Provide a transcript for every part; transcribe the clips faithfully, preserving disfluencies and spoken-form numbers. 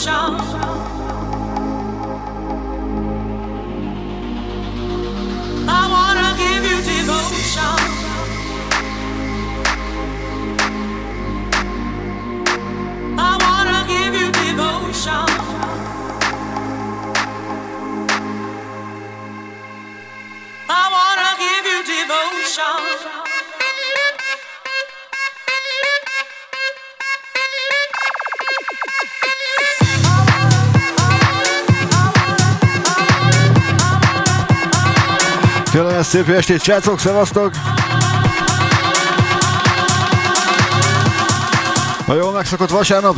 Szép jó estét, srácok, szevasztok! A jól megszokott vasárnap.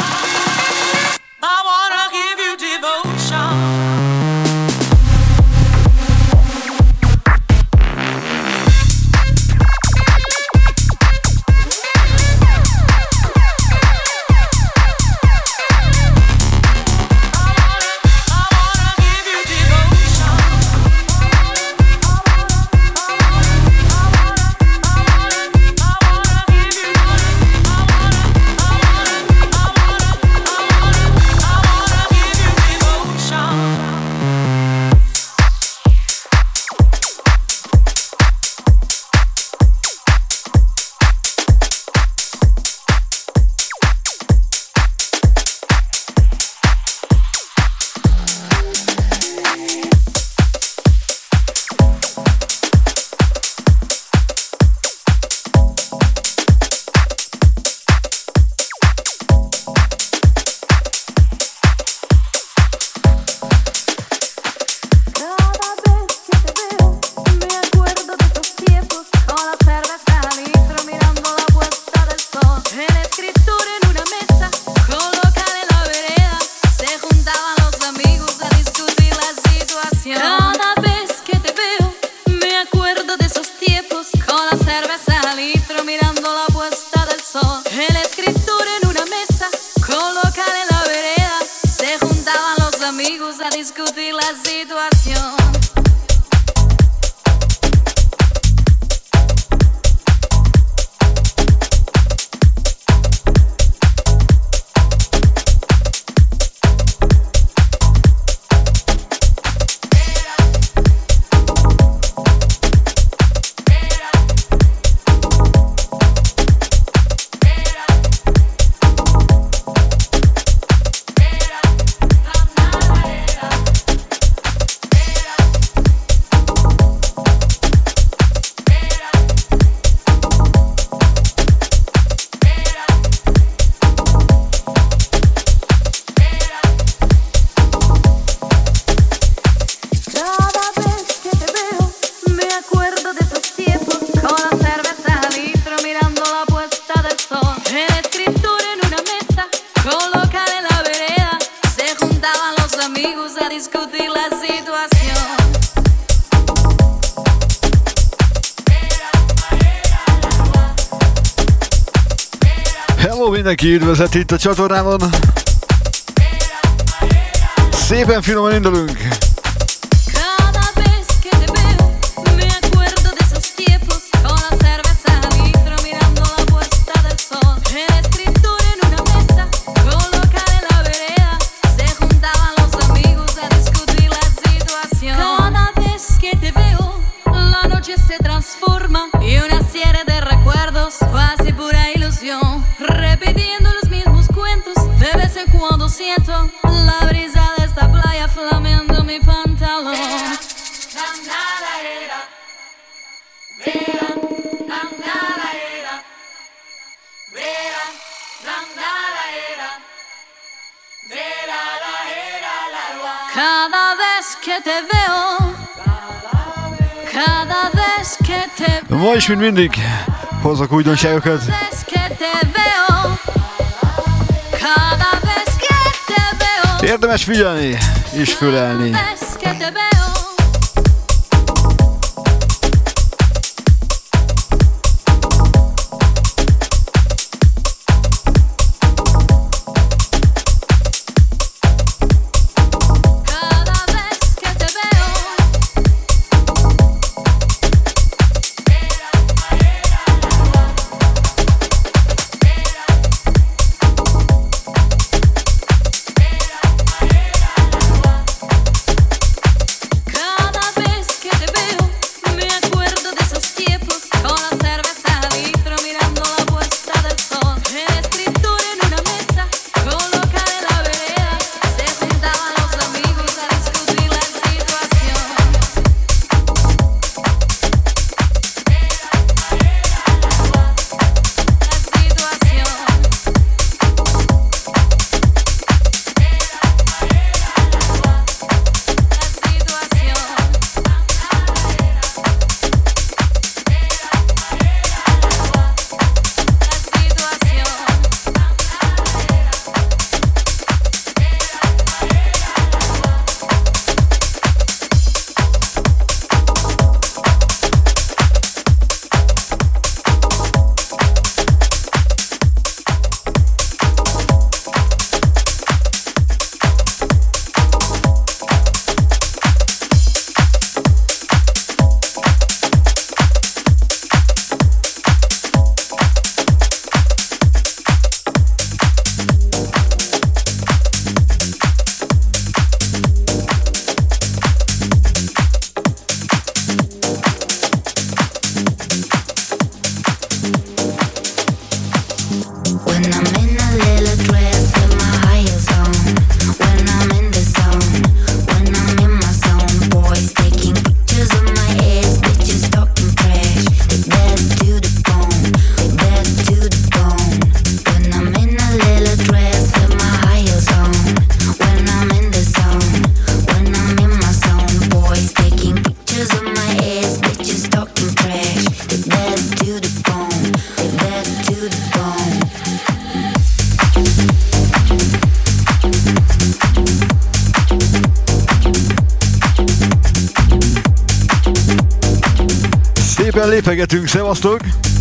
Mindenki üdvözlet itt a csatornában. Szépen finoman indulunk. Cada vez que te veo, cada vez que te veo, ma is, mint mindig, hozok újdonságokat. Érdemes figyelni és fölelni. Hey! Szépen lépegetünk, szevasztok!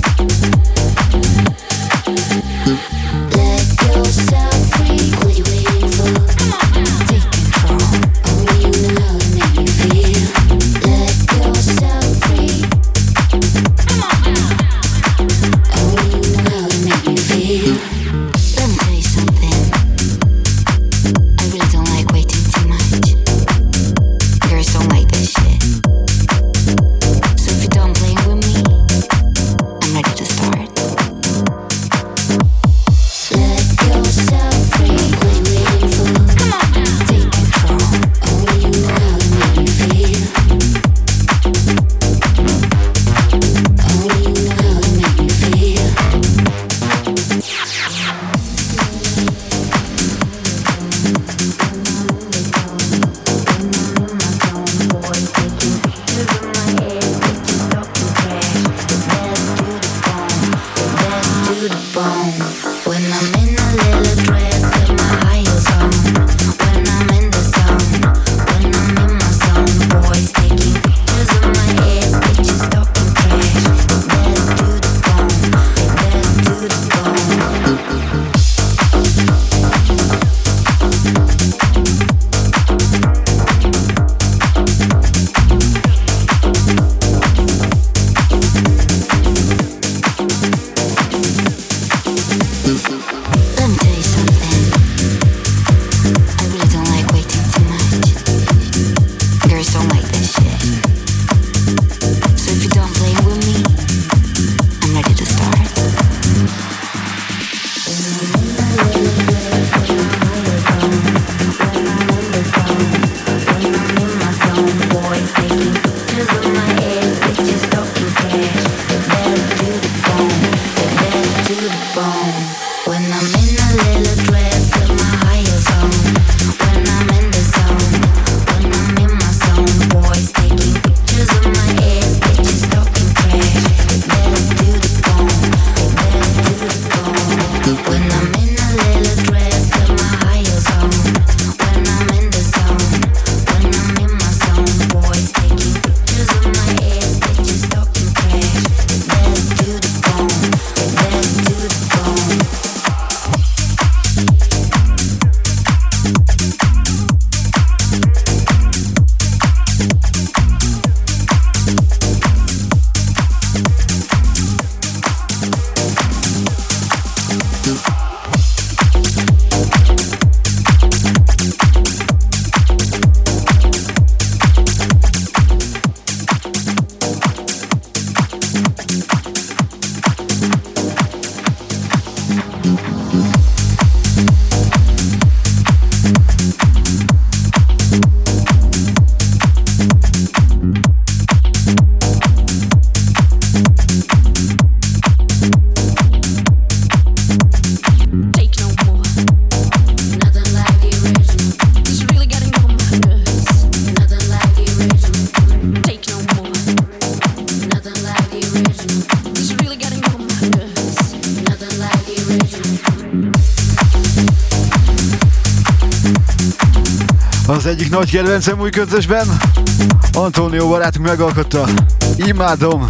Az egyik nagy kedvencem új közösben, Antonio barátunk megalkotta. Imádom!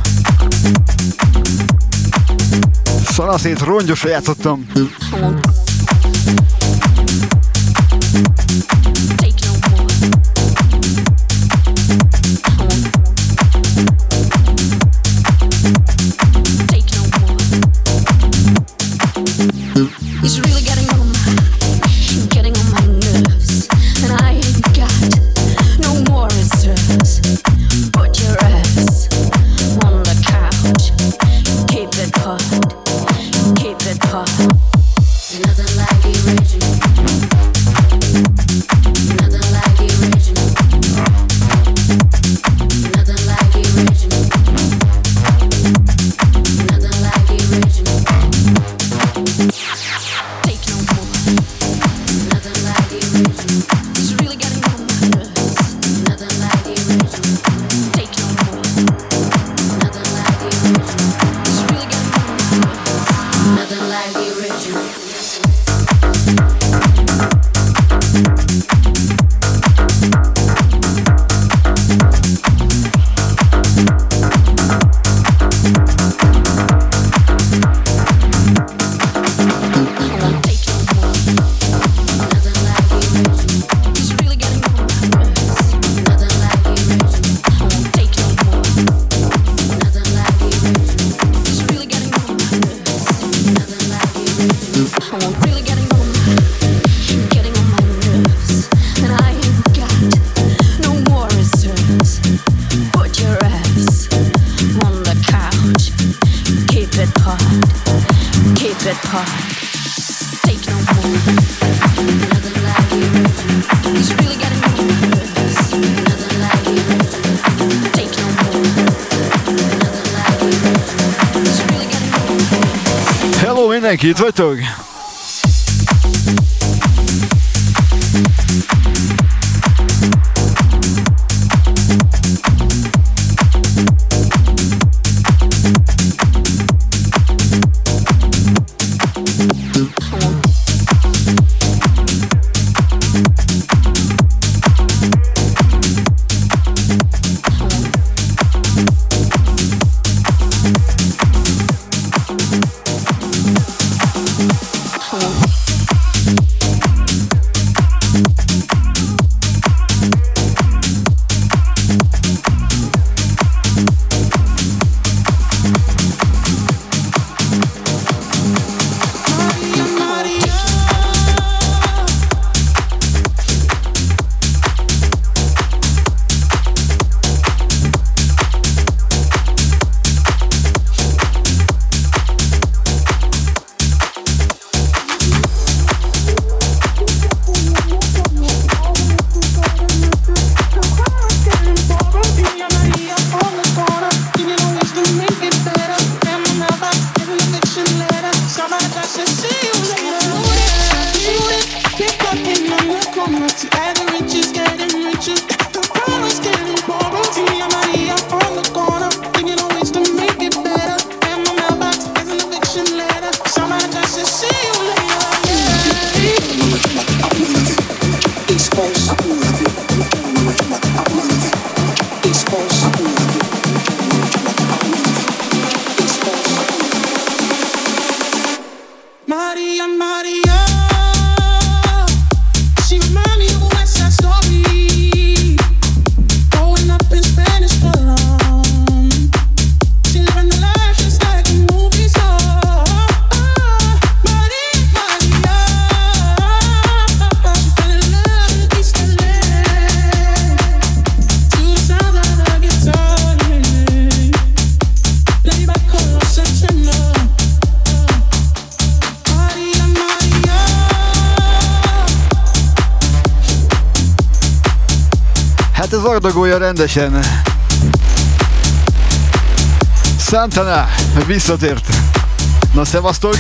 Szanaszét rongyosra játszottam. Nothing like the original. Nothing it hard, keep it hard. Take no more, nothing like you. It's really getting on my nerves. Nothing like you. Take no more, nothing like you. It's really getting on my nerves. Hello mindenki, itt vagytok? Ardagolja rendesen. Santana visszatért. Na szevasztok!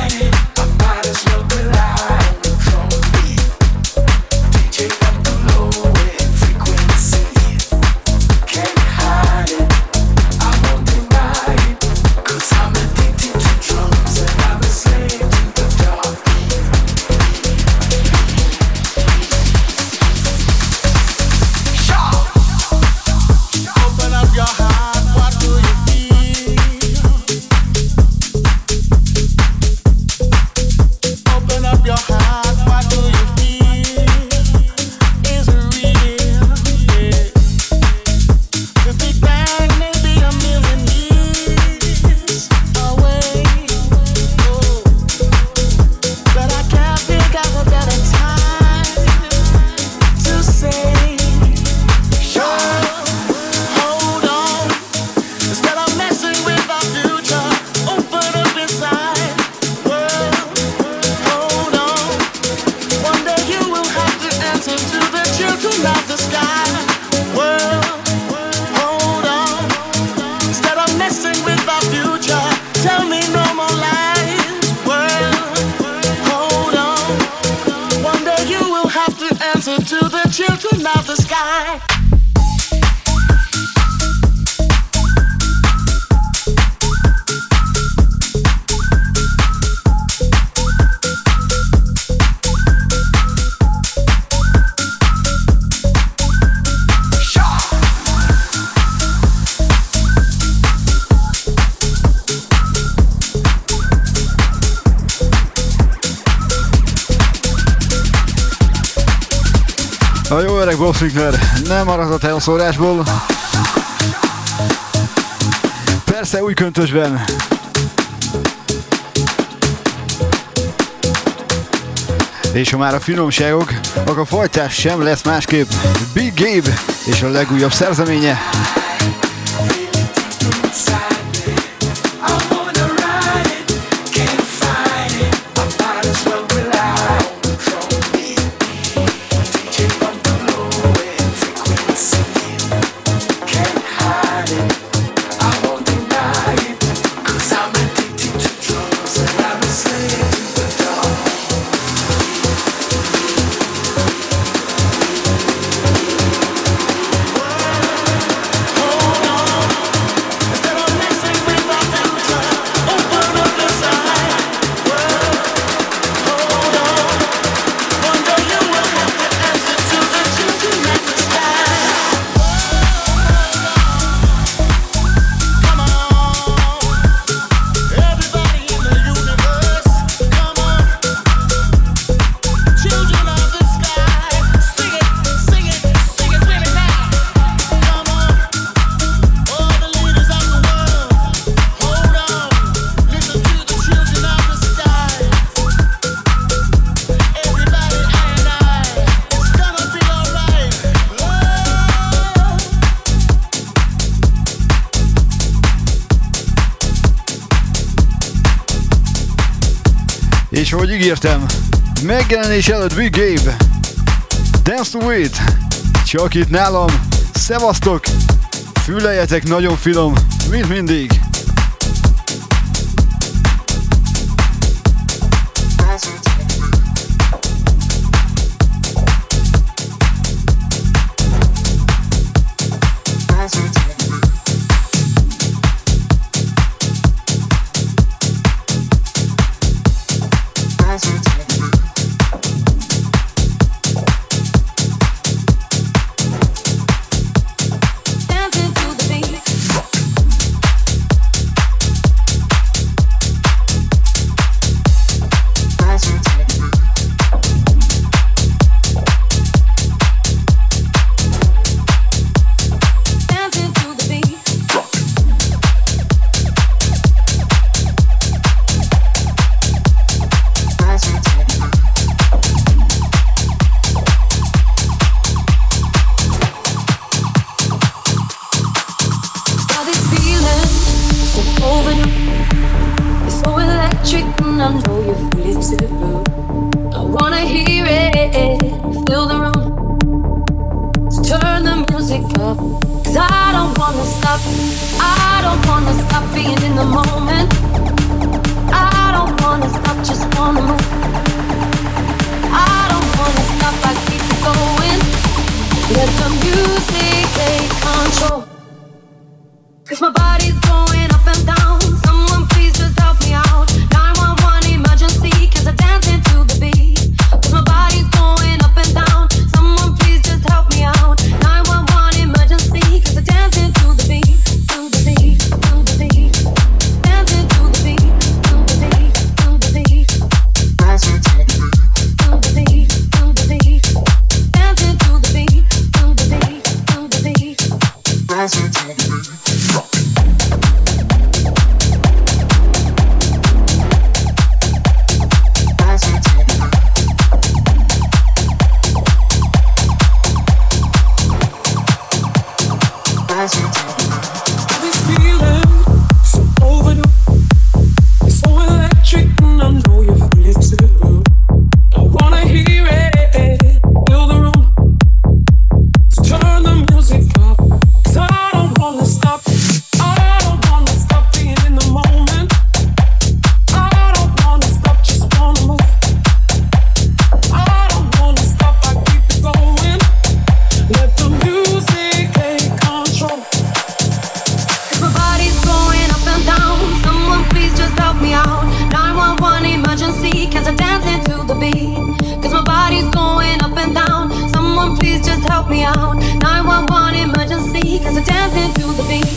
Take up the load. children of the sky. World, hold on. Instead of messing with our future, tell me no more lies. World, hold on. One day you will have to answer to the children of the sky. A jó öreg Bob Sinclair nem maradt a elszórásból. Persze új köntösben. És ha már a finomságok, akkor a folytás sem lesz másképp. Big Gabe és a legújabb szerzeménye. És ahogy ígértem, megjelenés előtt Big Gabe, Dance to It, csak itt nálam, szevasztok, füleljetek nagyon finom, mint mindig.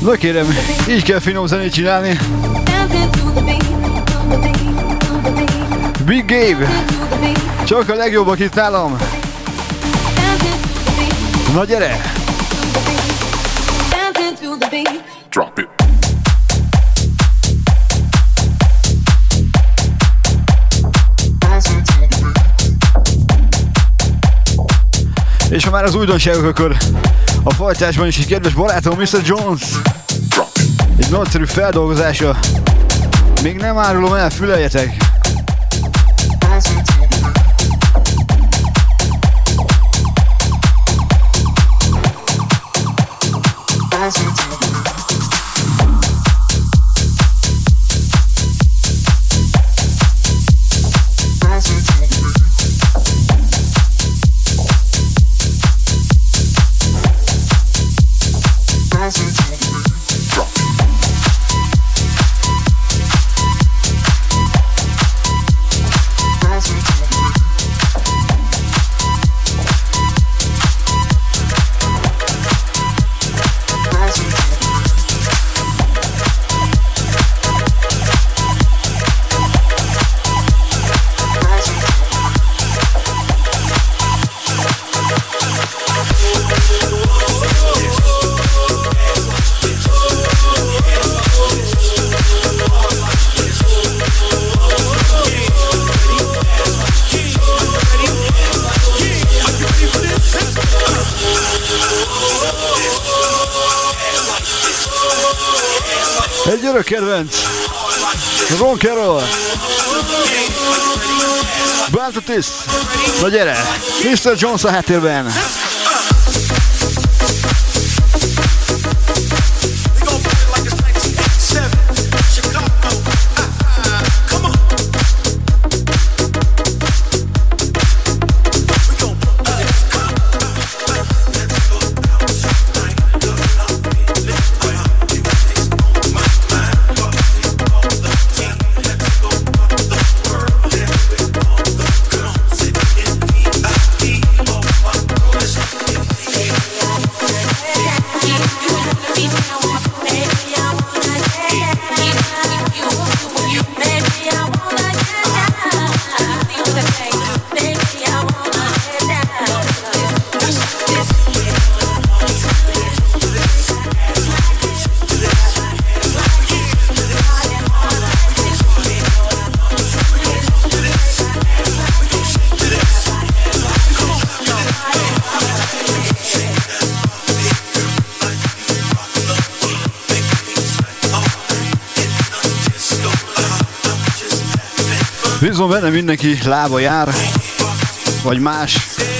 Na kérem, így kell finom zenét csinálni. Big Gabe, csak a legjobbak itt nálam. Na gyere! Drop it. És ha már az újdonságok, akkor a fajtásban is egy kedves barátom, miszter Jones. Egy nagyszerű feldolgozása. Még nem árulom el, füleljetek! Egy örök kedvenc, Ron Carroll, Bantatis, na gyere, miszter Jones a háttérben. Bízom benne, mindenki lába jár, vagy más.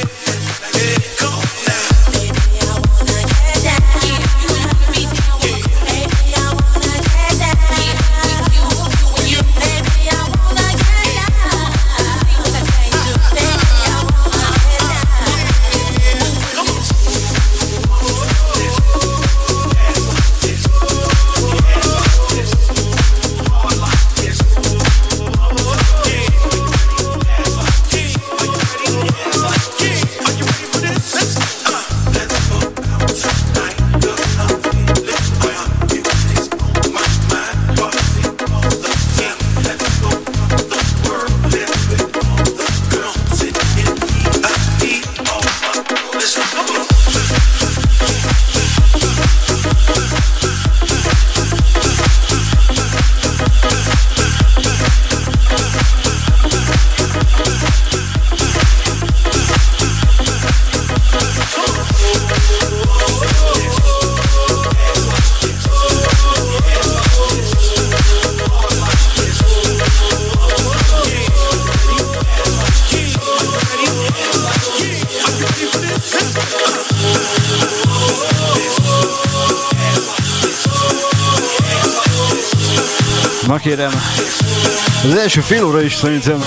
Na kérem, az első fél óra is szerintem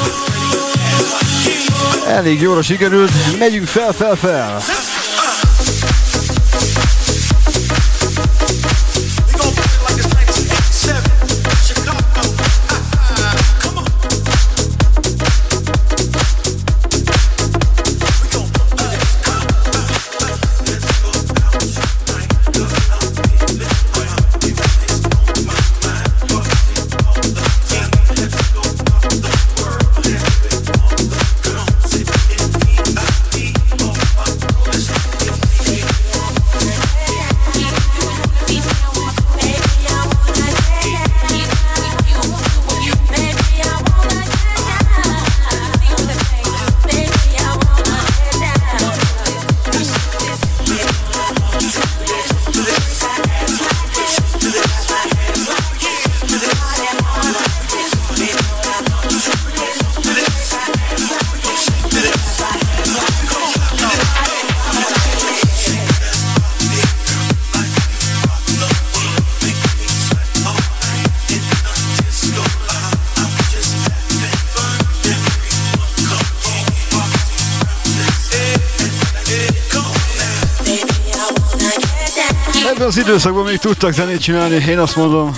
elég jóra sikerült, megyünk fel, fel, fel! Ebben az időszakban még tudtak zenét csinálni, én azt mondom.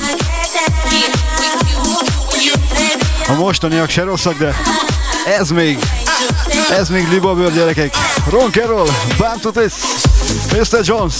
A mostaniak se rosszak, de ez még, ez még libabőr gyerekek. Ron Carroll, Bound to This, miszter Jones.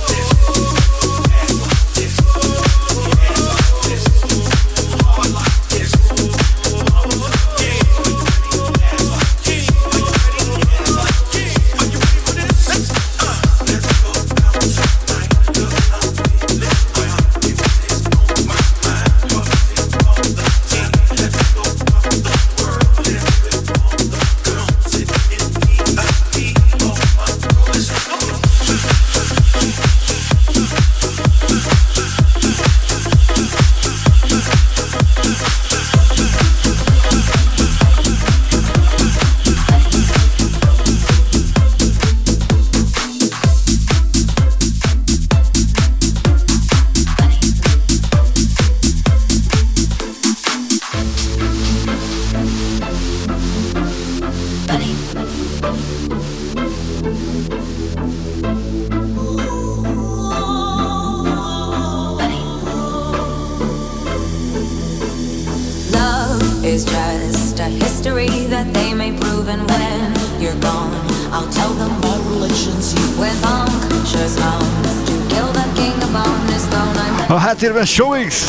A háttérben Showix!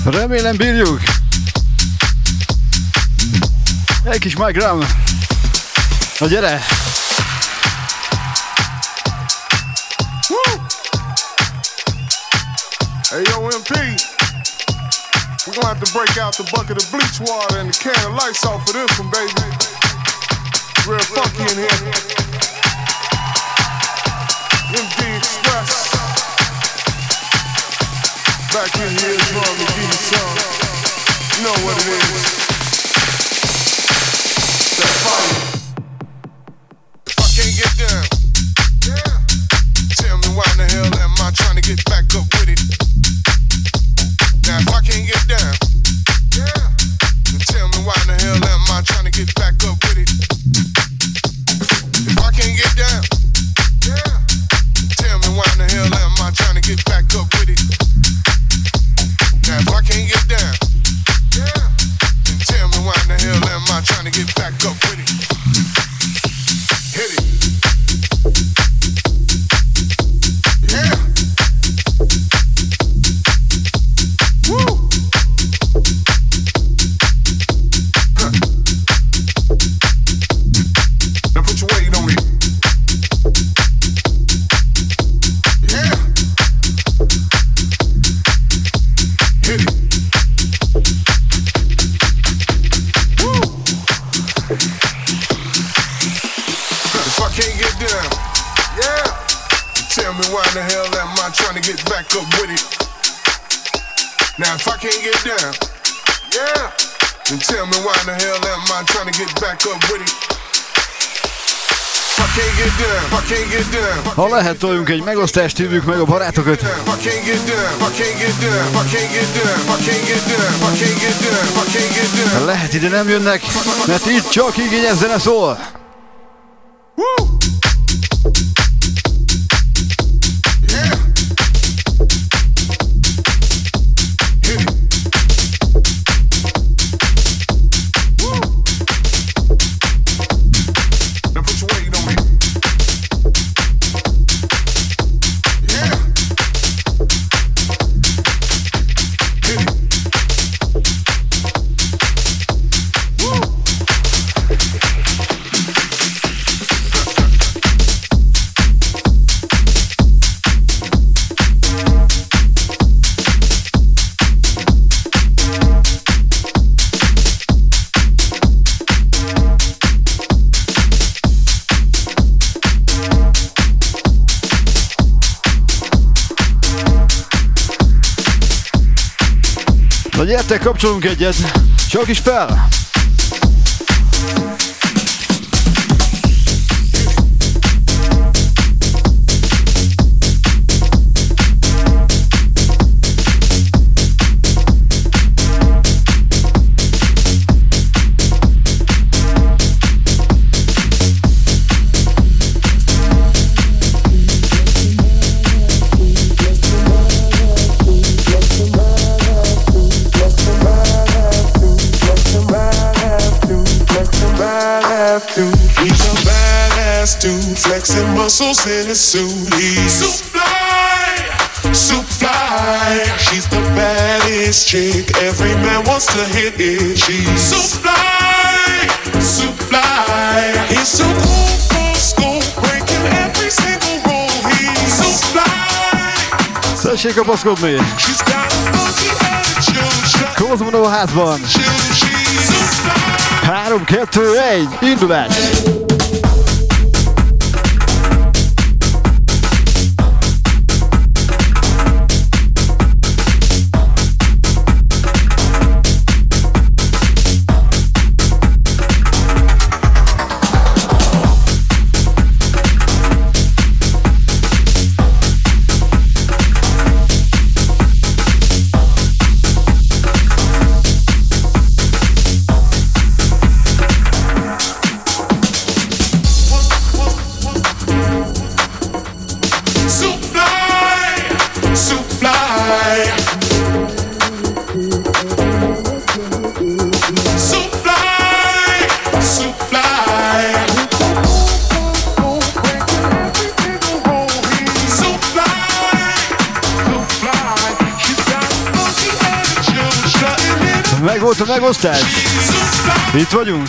Remélem bírjuk. Egy kis Mike Graham. Na gyere! Hey yo, M P, we're gonna have to break out the bucket of bleach water and the can of lights off for this one, baby. Real funky in here. M D Express. Back in here, trying to give you some. You know what it is. That fire. If I can't get down, yeah. Tell me why in the hell am I trying to get back up with it? Now if I can't get down, yeah, then tell me why in the hell am I trying to get back up with it? If I can't get down, yeah, tell me why in the hell am I trying to get back up with it? Now if I can't get down, yeah, then tell me why in the hell am I trying to get back up with it? Hit it. Yeah. Woo. Huh. Now put your weight on it. Yeah. Hit it. Woo. If I can't get down, yeah, tell me why in the hell am I trying to get back up with it? Now if I can't get down, yeah, then tell me why in the hell am I trying to get back up with it? If I can't get down, if I can't get down. Ha lehet, toljunk egy megosztást, hívjuk meg a barátokat. If I can't get down, if I can't get down, if I can't get down, if I can't get down, if I can't get down, if I can't get down. Ha lehet, ide nem jönnek, mert itt csak igényes zene szól. Woo! Yeah. Hit it. Woo! Now put your weight on me. Yeah. Hit it. Woo! Na gyertek, kapcsolunk egyet. Csak is fel! Flexing muscles in his suit. He's so fly, so fly. She's the baddest chick. Every man wants to hit it. She's so fly, so fly. He's so cool for school, breaking every single rule. He's so fly. Szessék kapaszkodni! She's got a funky attitude. Kozmonó házban! She's so fly. három, kettő, egy, indulás! volt a megosztás? Itt vagyunk.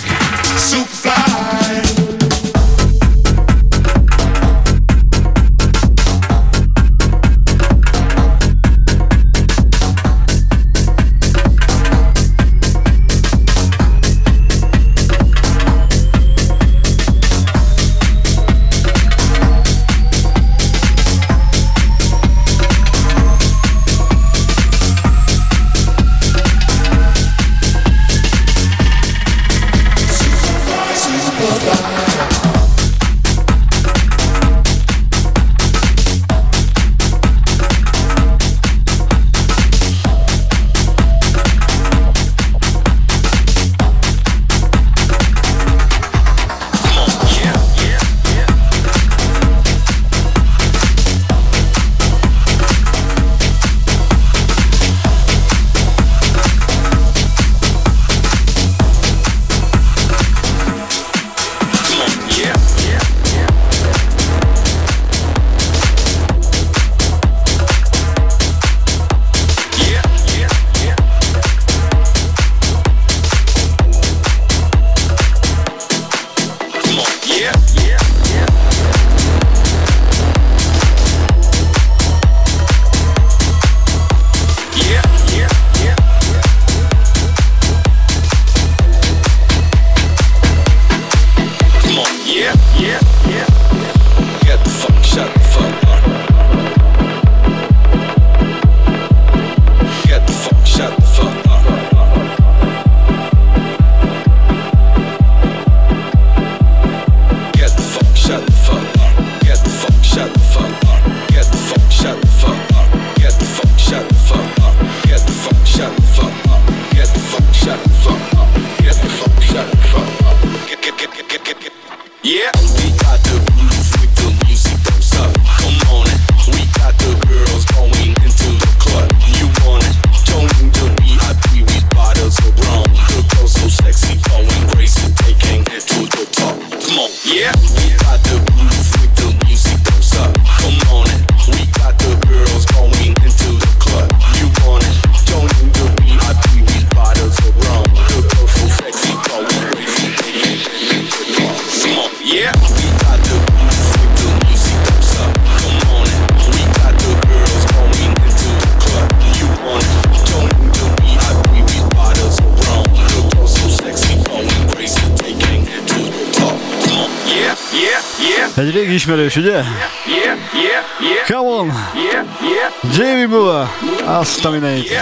Egy régi ismerős, ugye? Come on! Jamie Moore! Azt a mindenit!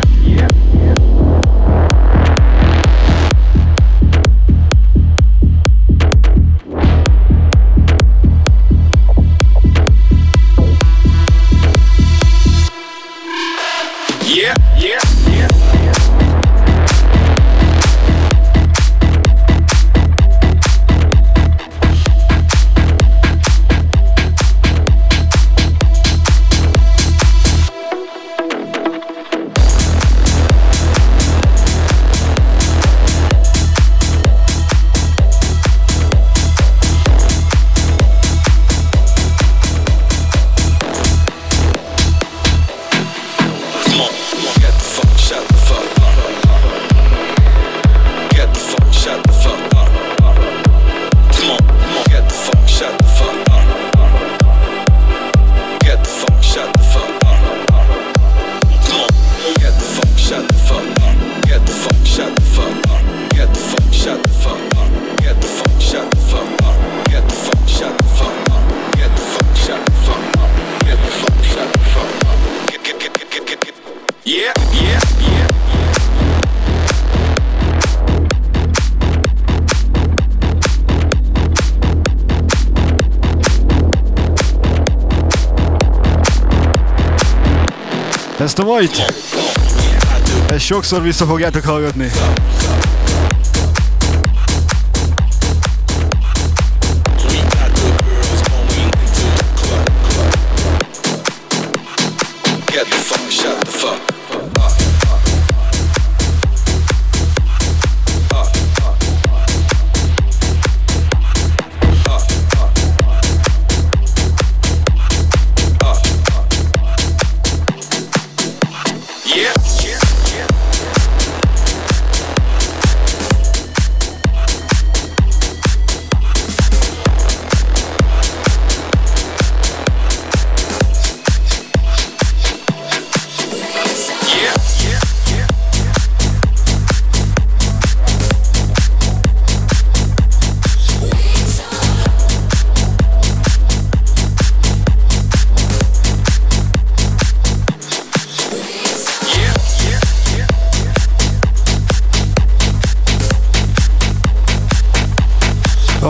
Ezt a majt, ezt sokszor vissza fogjátok hallgatni.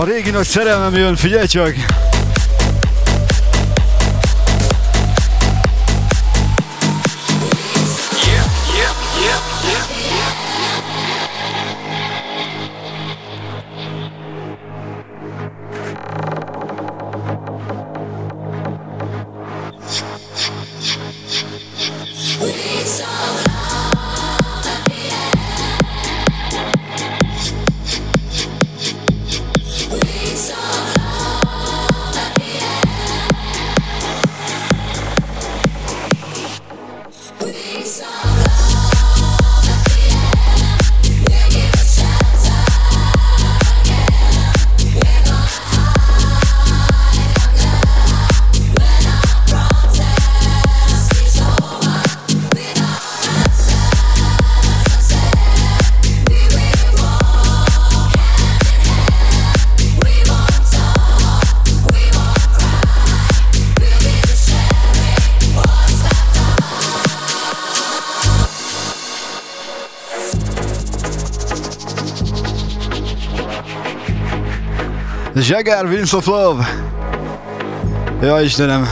régi nagy szerelmem jön, figyelj csak! Jagger, Winds of Love. Ja, Istenem.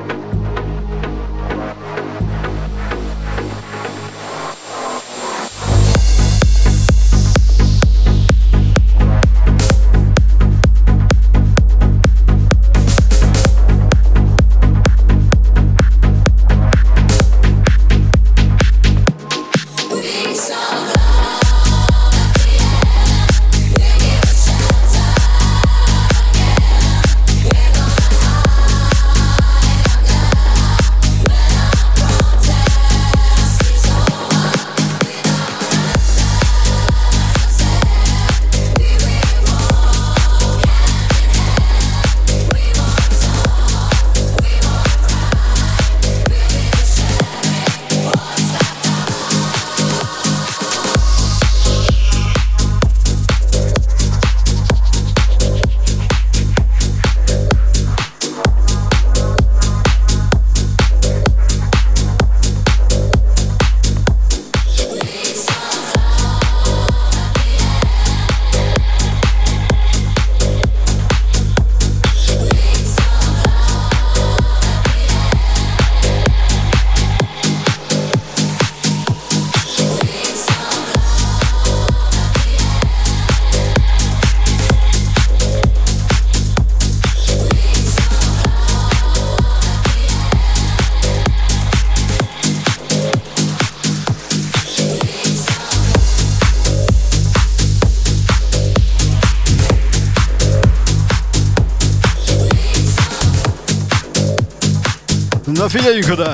Na figyeljünk oda!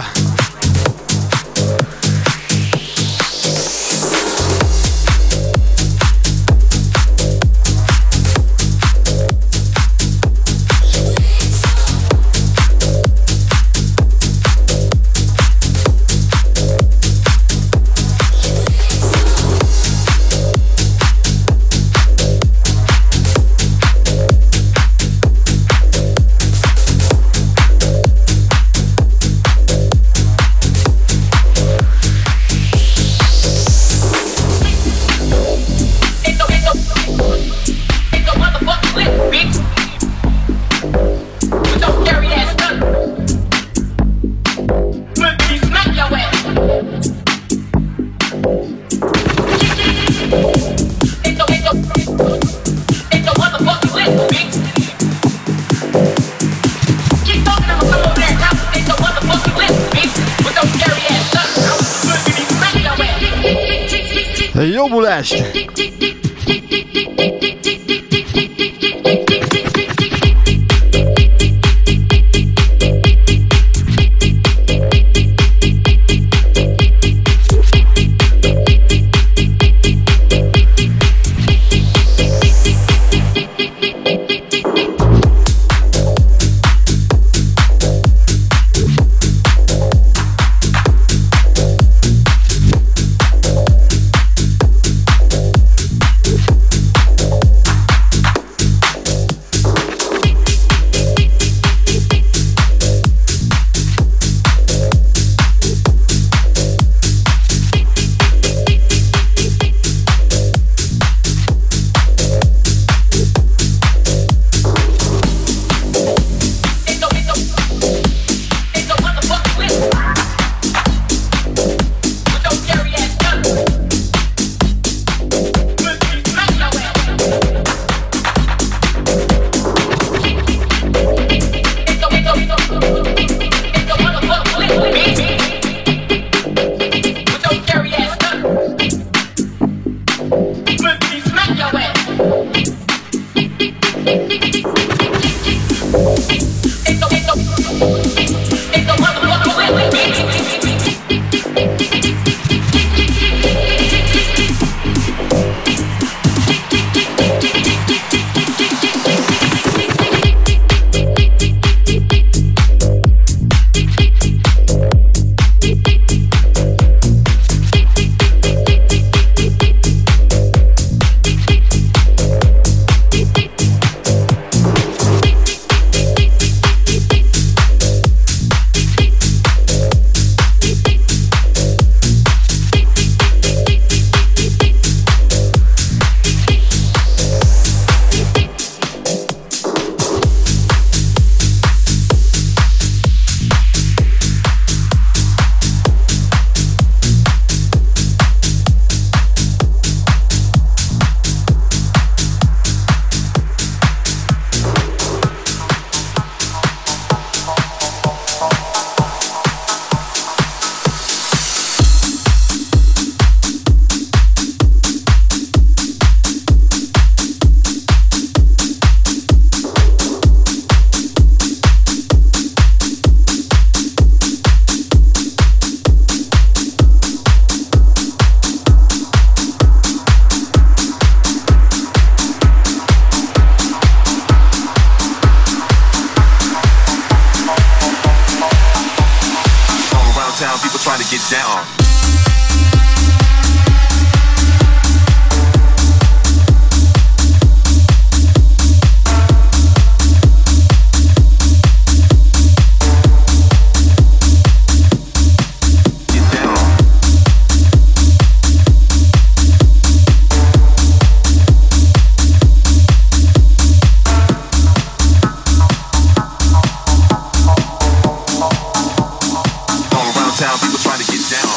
Jobbulást! town, people trying to get down. Town, people trying to get down.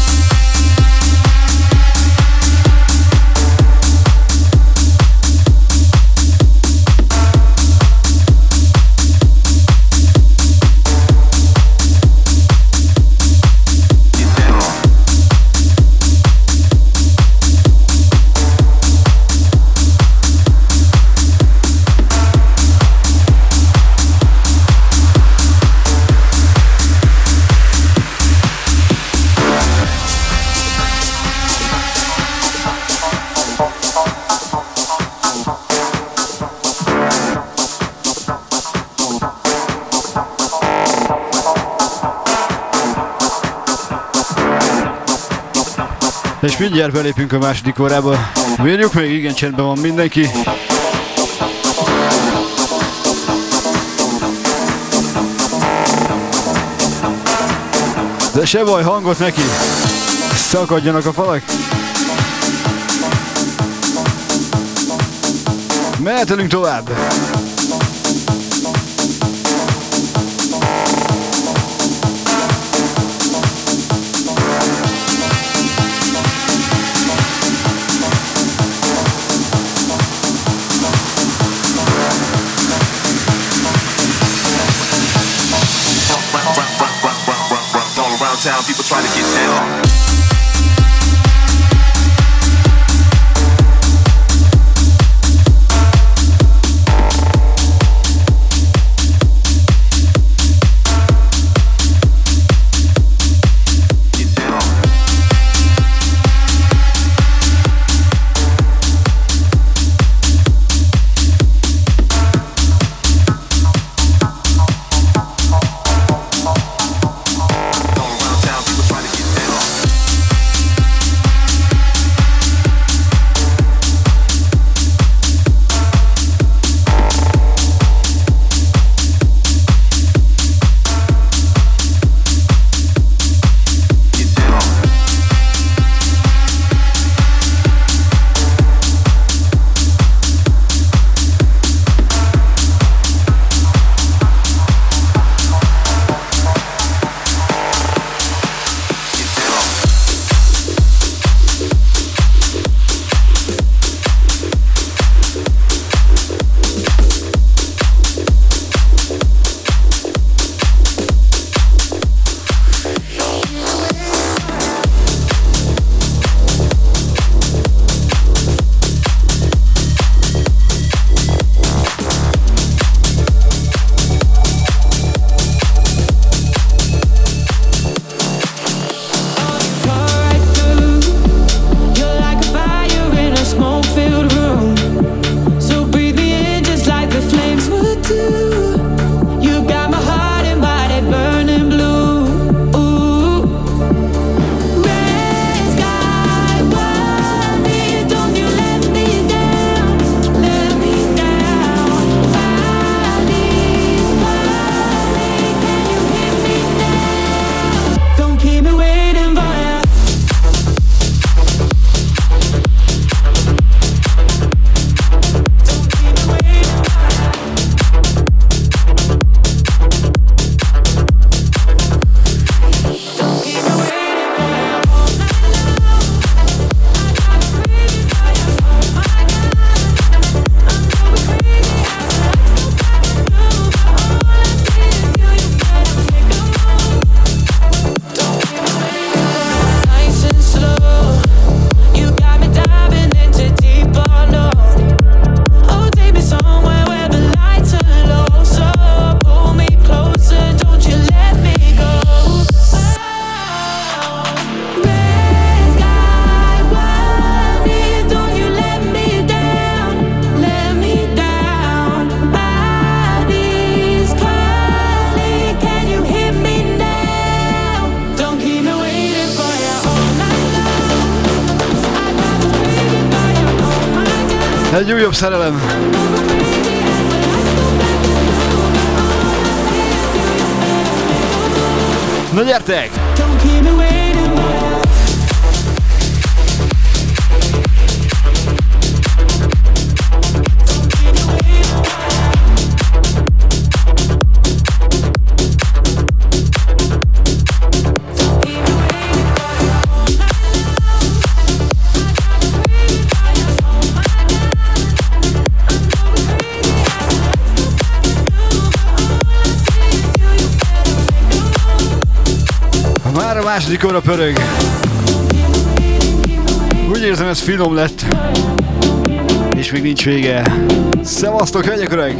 És mindjárt belépünk a második órába. Várjuk még, igen, csendben van mindenki. De se baj, hangot neki. Szakadjanak a falak. Mehetelünk tovább. Town, people trying to get down. Town, people trying to get down. Egy újabb szerelem. Na gyertek! Már a második óra pörög. Úgy érzem, ez finom lett. És még nincs vége. Szevasztok, hölgyek, öreg!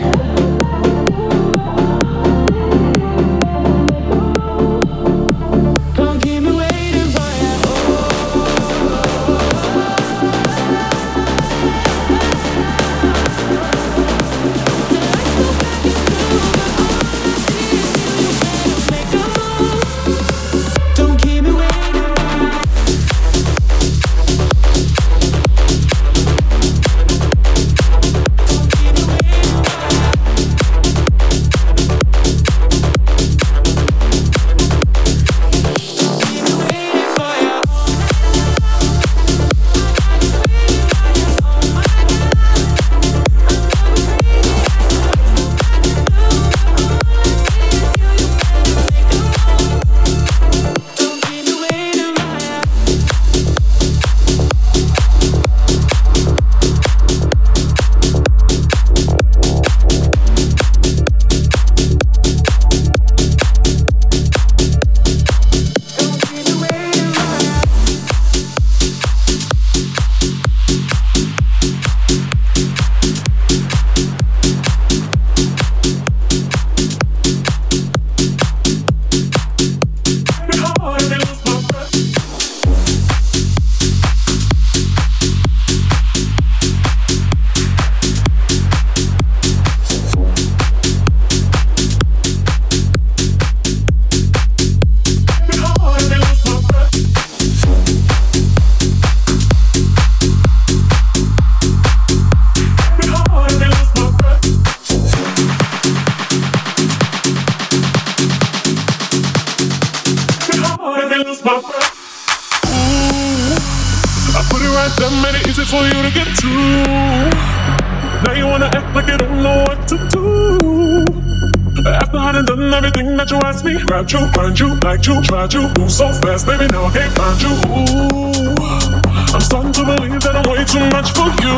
Grab you, find you, like you, tried you. Move so fast, baby, now I can't find you. Ooh, I'm starting to believe that I'm way too much for you.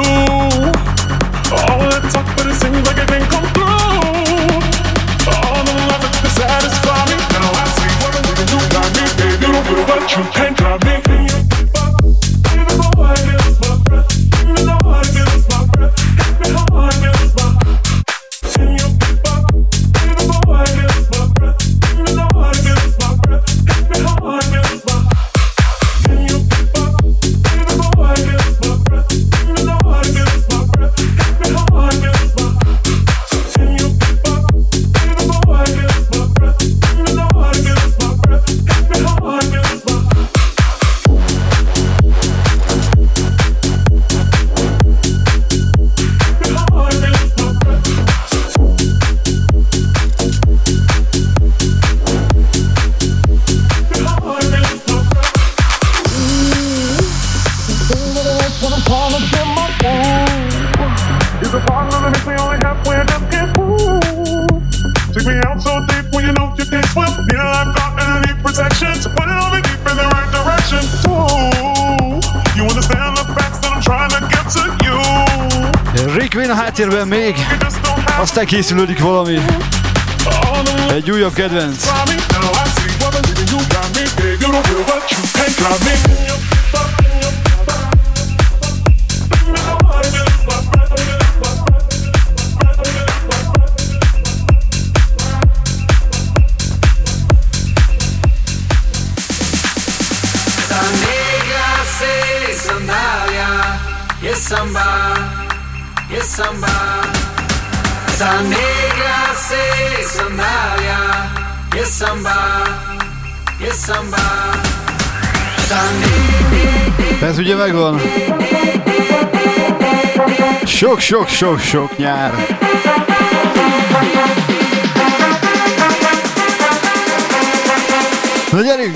All that talk, but it seems like it didn't come through. All the love that could satisfy me. Now I see what I'm doing, you got me. Baby, you don't feel what you can't drive me. Baby, boy, I can't lose my breath. Baby, no, I can't lose my breath. Baby, no, I can't lose my breath. Háttérben még, aztán készülődik valami. Egy újabb kedvenc. Samba, esa negra se sandalia, yes samba, yes samba. Ez ugye megvan. Sok-sok-sok-sok nyár. Na gyerünk!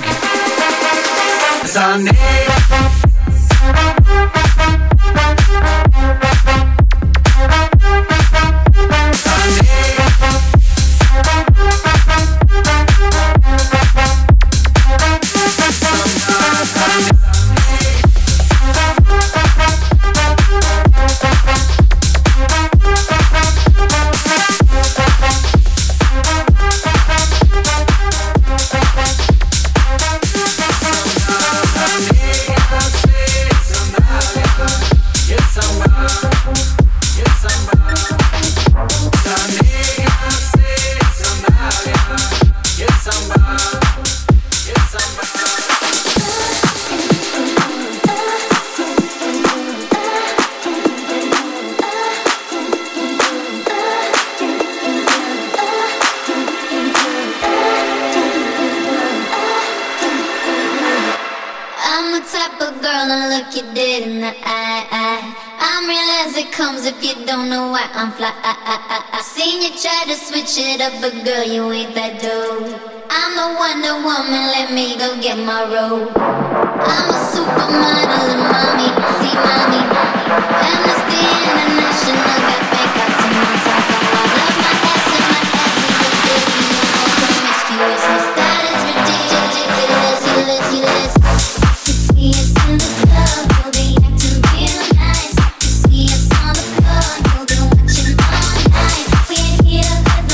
It up, but girl, you ain't that dope. I'm the Wonder Woman, let me go get my robe. I'm a supermodel and mommy, see mommy. Amnesty International got Bangkok to my top. I love my ass and my ass is ridiculous. Promiscuous, my style is ridiculous. Ridiculous, ridiculous. You see us in the club, you'll be acting real nice. You see us on the floor, you'll be watching all night. We ain't here.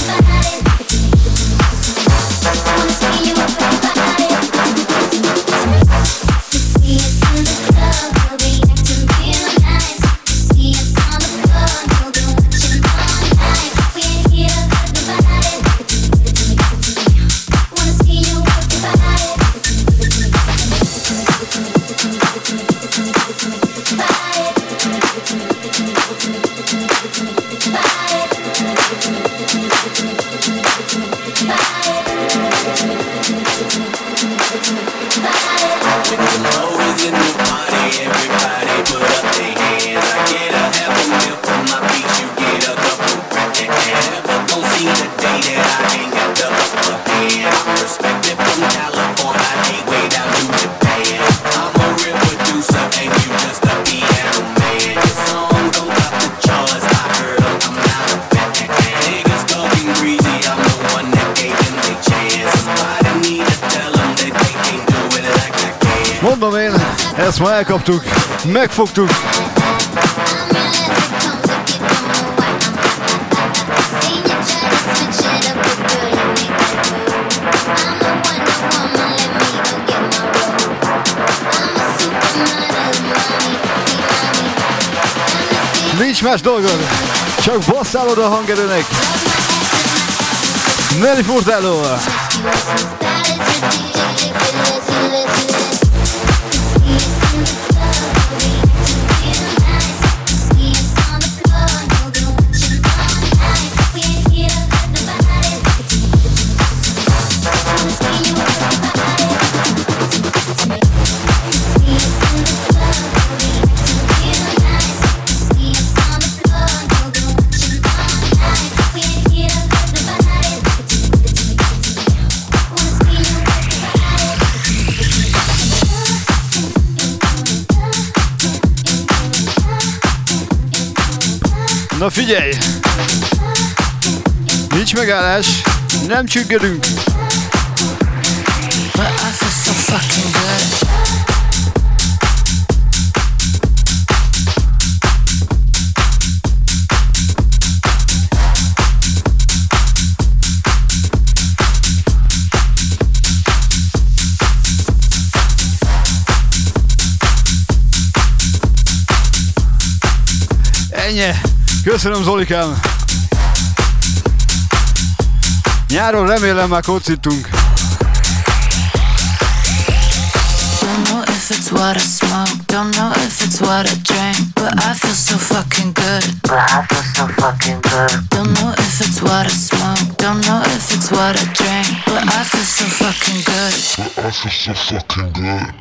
Mondom én, ezt ma elkaptuk, megfogtuk. Nincs más dolgod, csak basszálod a hangerőnek. Nelly Furtado. Na figyelj! Nincs megállás, nem csüggedünk. Ennyi! Köszönöm, Zolikám! Nyáron remélem már kocítunk. Don't know if it's what I smoke, don't know if it's what I drink, but I feel so fucking good. But I feel so fucking good. Don't know if it's what I smoke, don't know if it's what I drink, but I feel so fucking good. But I feel so fucking good.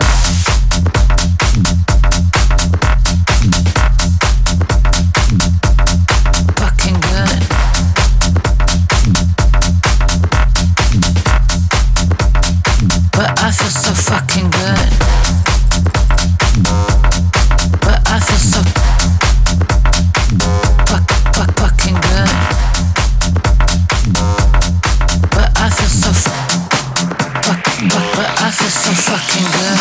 feel so fucking good.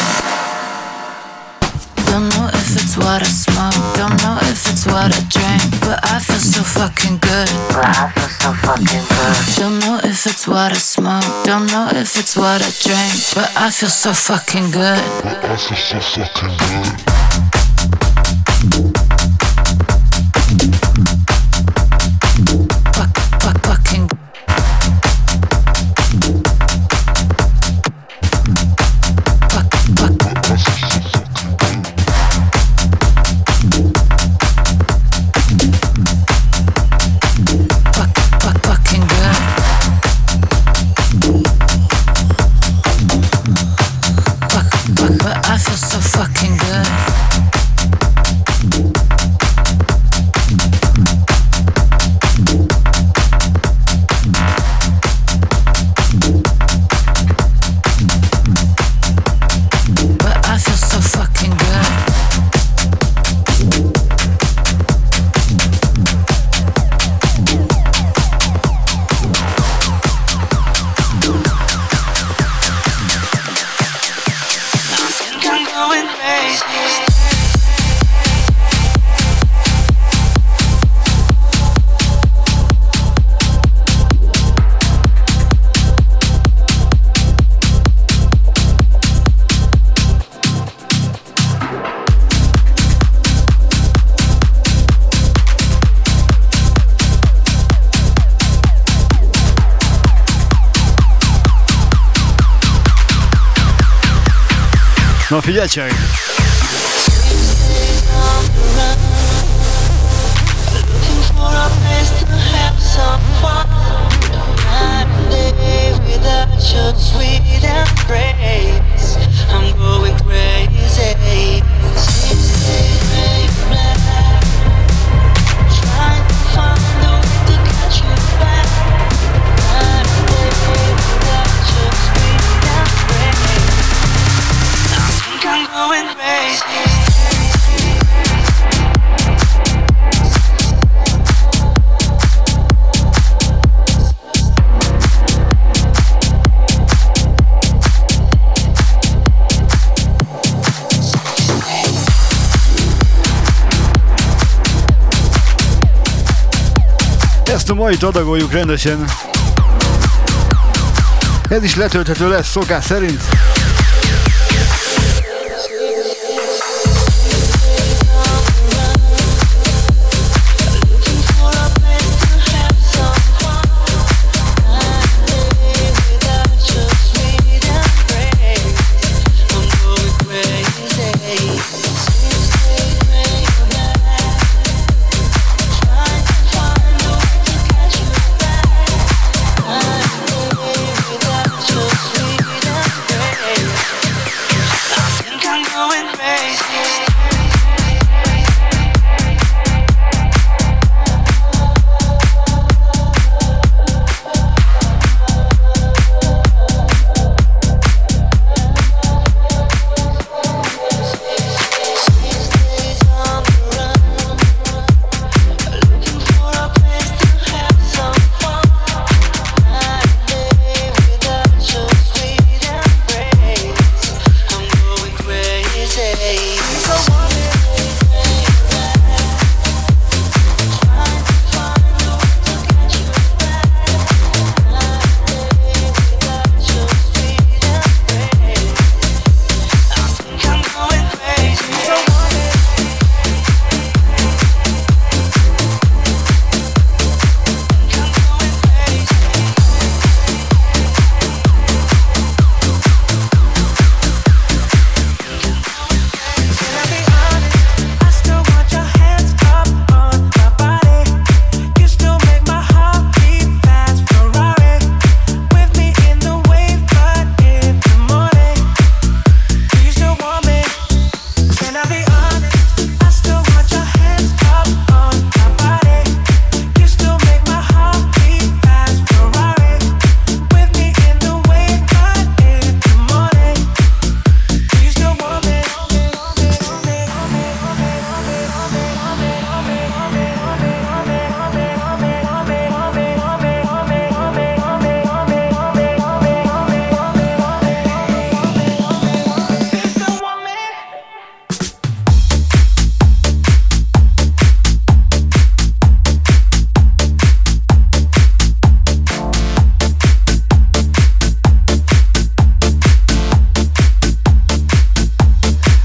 Don't know if it's what I smoke, don't know if it's what I drink, but I feel so fucking good. But I feel so fucking good. Don't know if it's what I smoke, don't know if it's what I drink, but I feel so fucking good. But I feel so fucking good. Fuck, fuck, fucking. Fuck, fuck. But I feel so fucking good. Fuck, fuck, fucking good. Fuck, fuck, but I feel so fucking good. But I feel so fucking good. I'm going crazy. Na figyeljetek! I'm going crazy. Trying to find a way to catch you back. Night and day without your sweet embrace. I think I'm going crazy. Ezt a mai adagoljuk rendesen. Ez is letölthető lesz szokás szerint. Without your sweet embrace.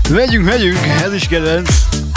Megyünk, megyünk, ez is kedvenc.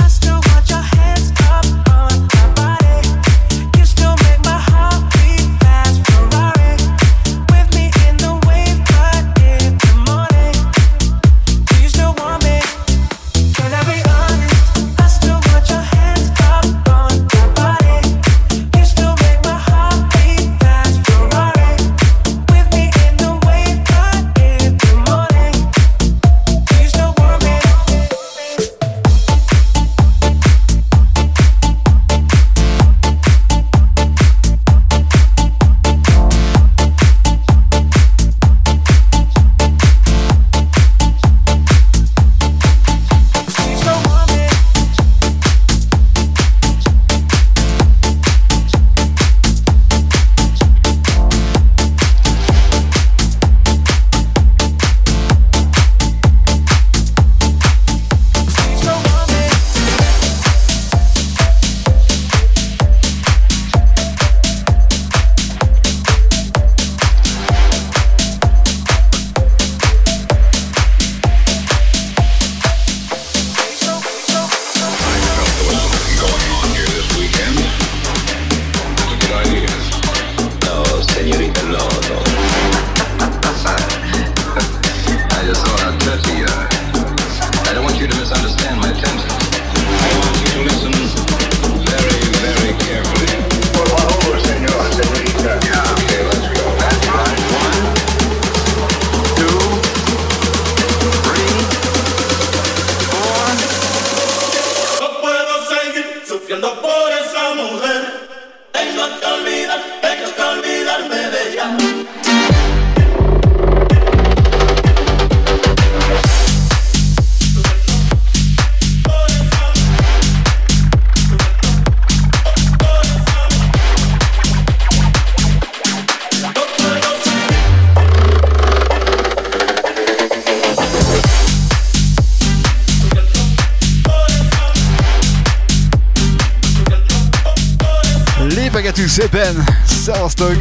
Szépen, szevasztok!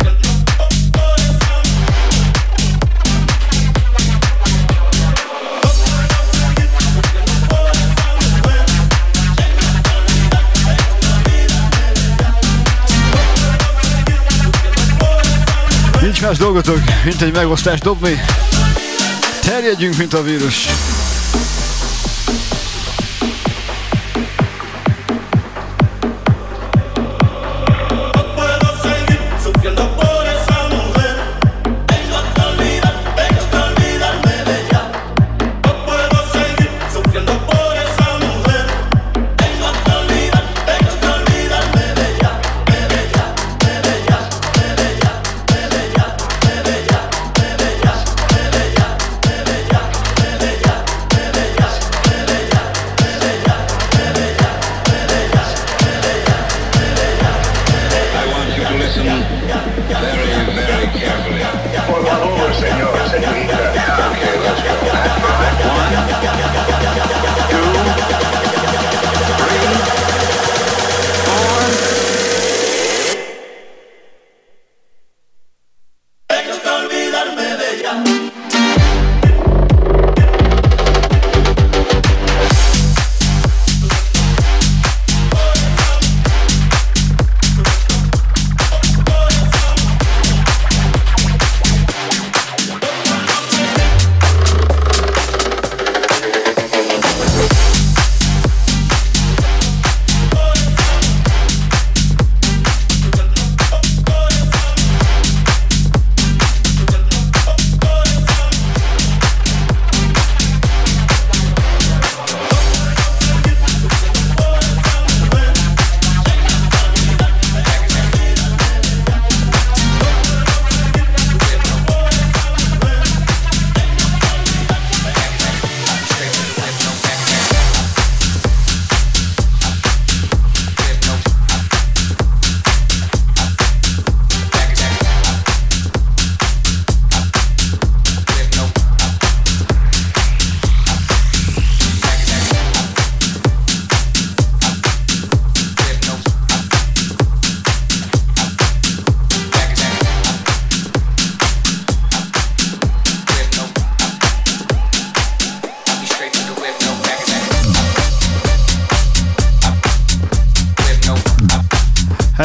Nincs más dolgotok, mint egy megosztást dobni. Terjedjünk, mint a vírus.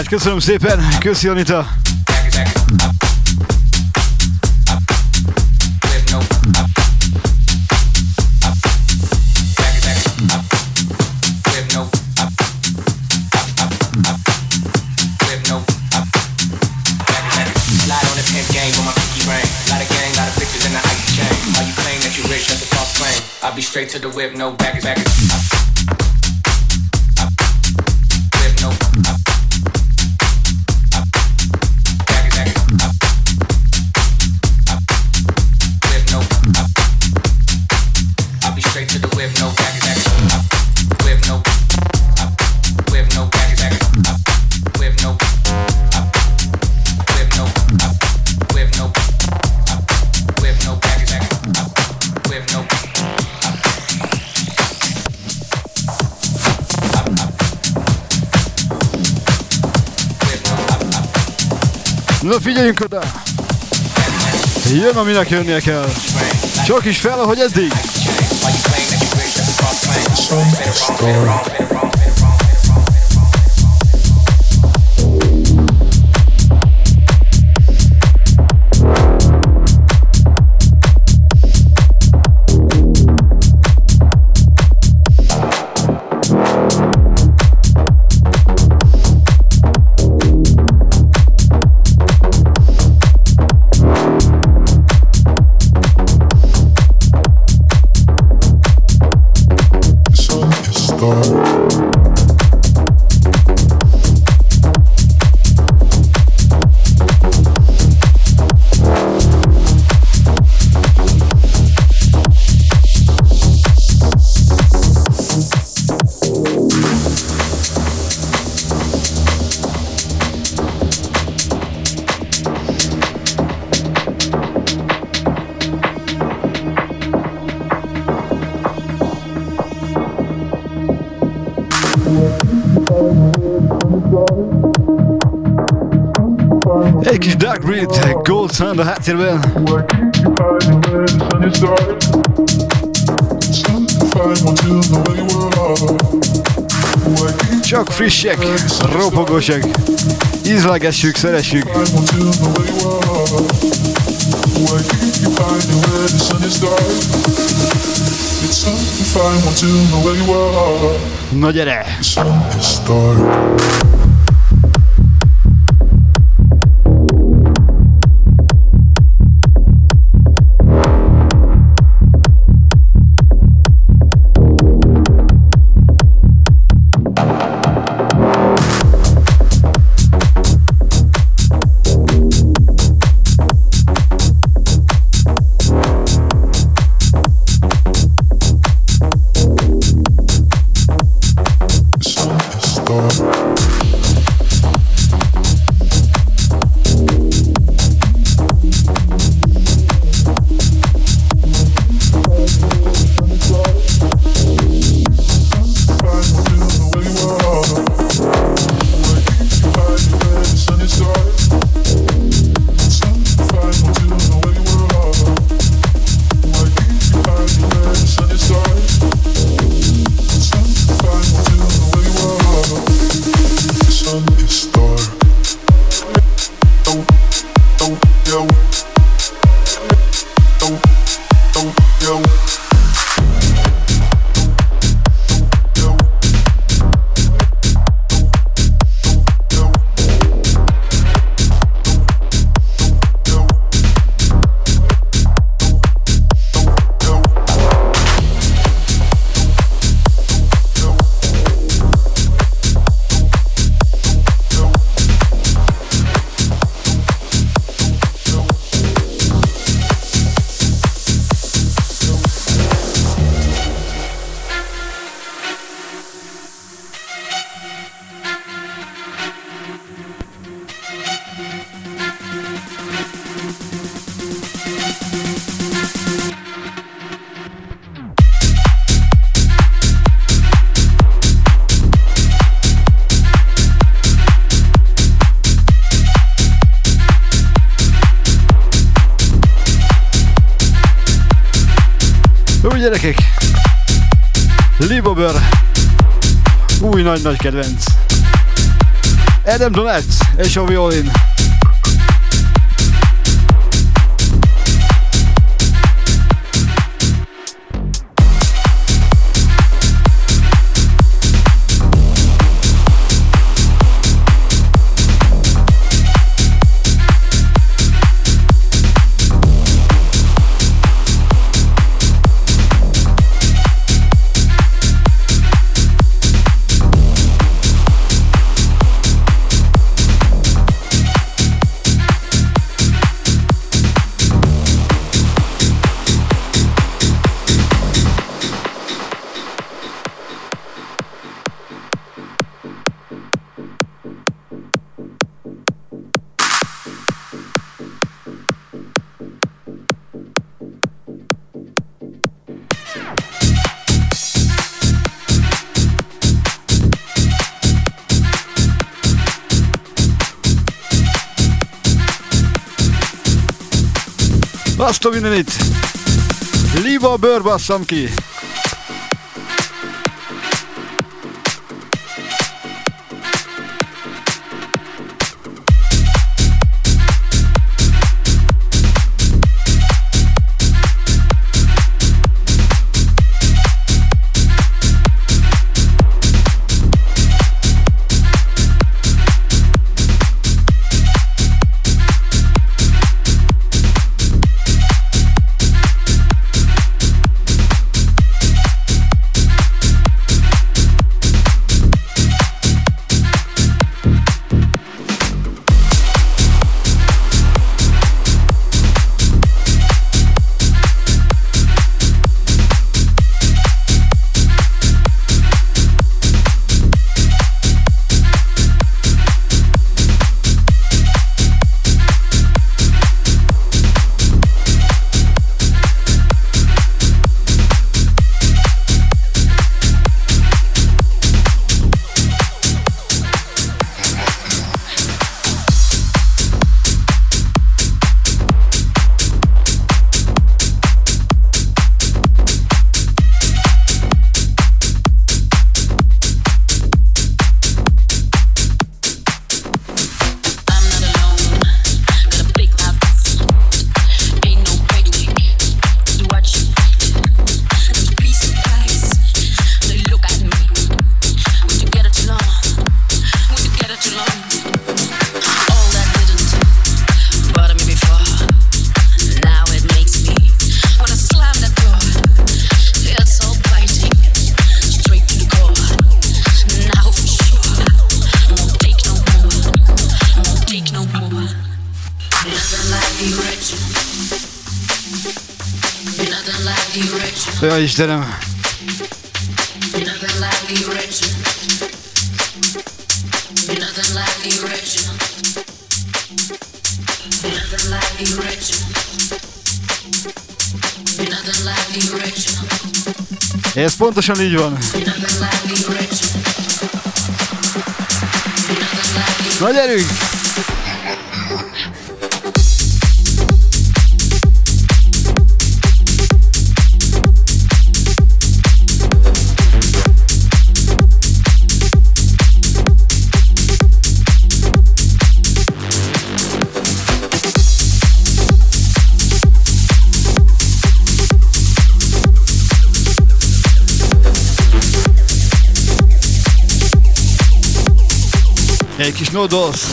Hát köszönöm szépen, köszi Anita. I'll be straight to the whip, no baggage, baggage. Whip, no. Baggage, baggage. Whip, no. I'll be straight to the whip, no baggage, baggage. Whip, no. Whip, no baggage, baggage. Whip, no. Whip, no. Whip, no. Whip, no baggage, baggage. Whip, no. Na figyeljünk oda! Jön, aminek jönnie kell. Csak is fel, ahogy eddig. Egy kis Dark Breed, Gold Sun a háttérben. Csak frissek, ropogósak. Ízlegessük, szeressük. Na gyere! Gyerekek, Lee Bobber, új nagy-nagy kedvenc. Adam Donat és a violin. Azt a mindenit! Líva a bőr, basszam ki! Ja, Istenem! Ez pontosan így van. Na gyerünk! Egy kis nodosz.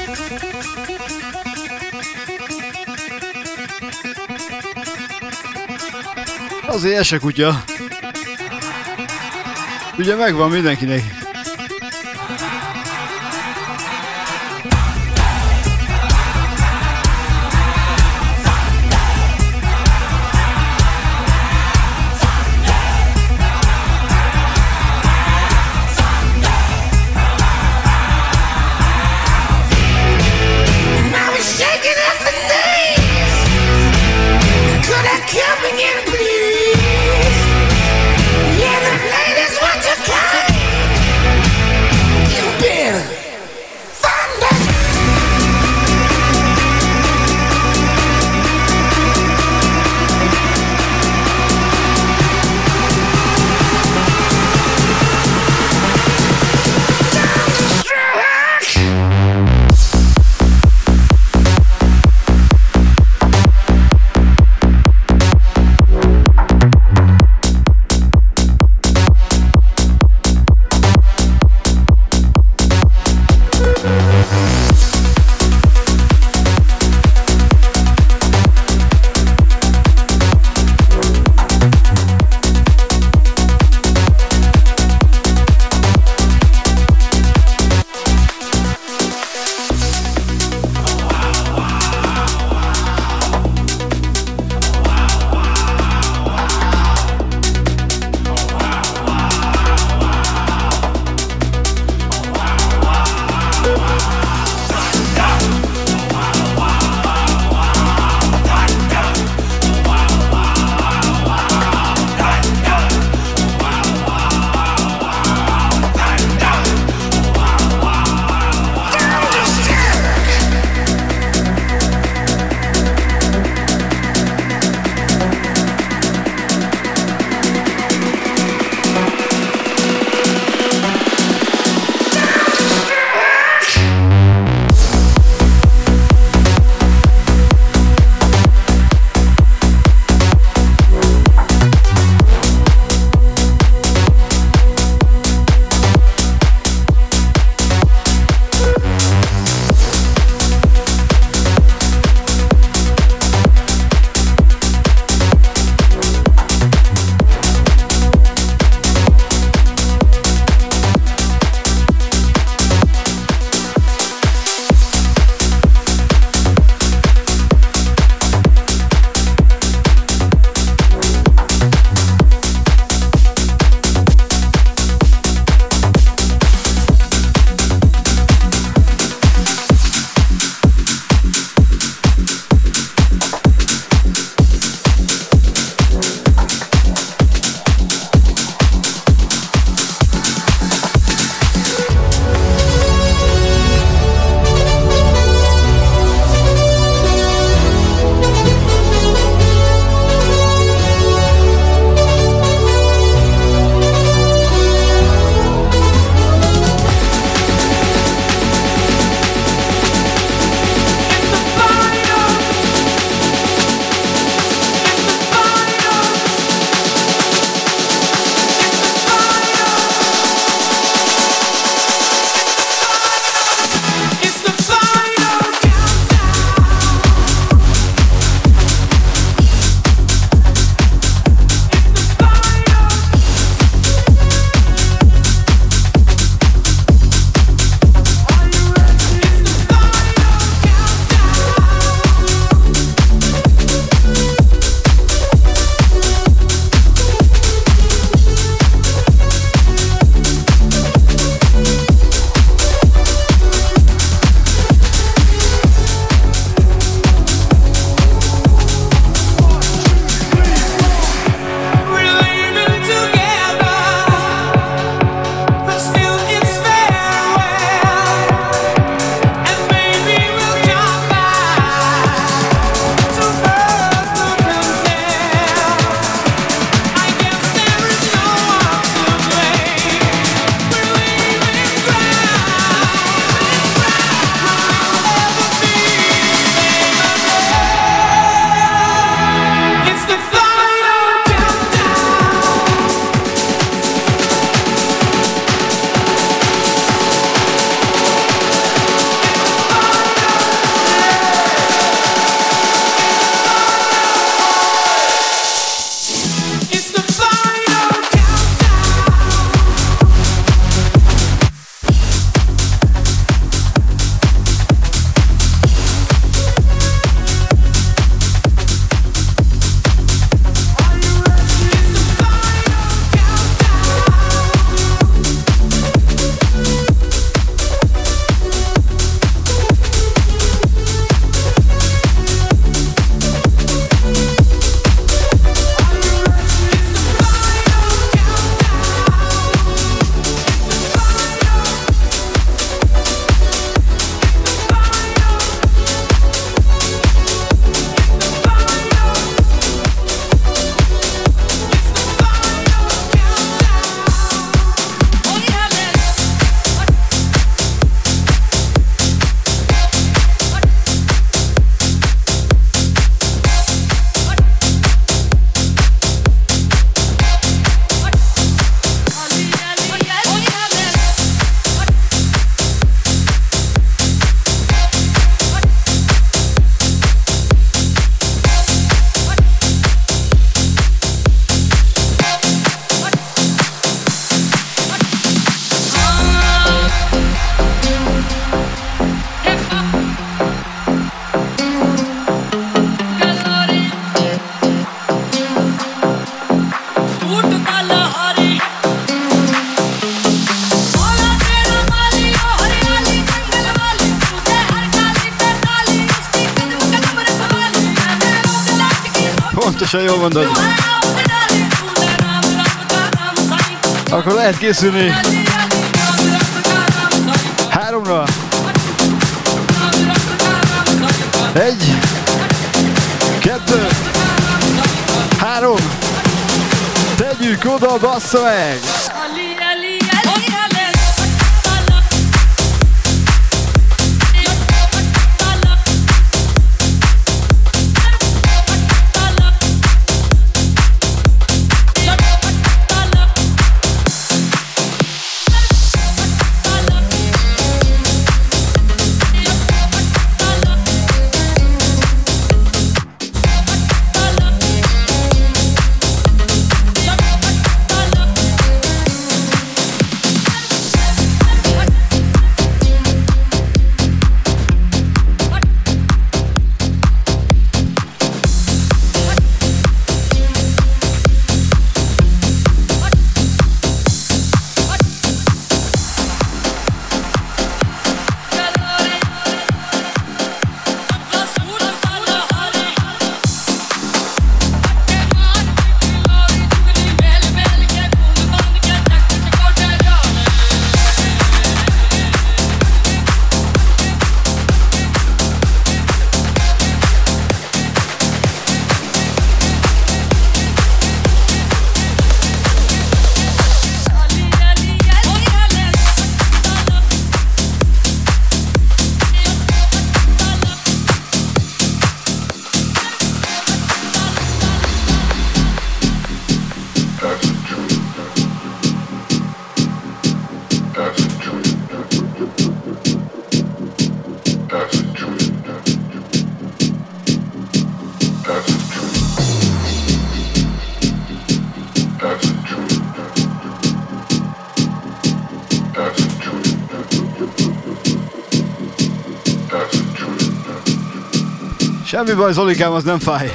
Azért ez se kutya. Ugye megvan mindenkinek. Please, yeah, the ladies want to come. Pontosan jól mondod. Akkor lehet készülni háromra. Egy, kettő, három. Tegyük oda, bassza meg! Semmi baj, Zolikám, az nem fáj.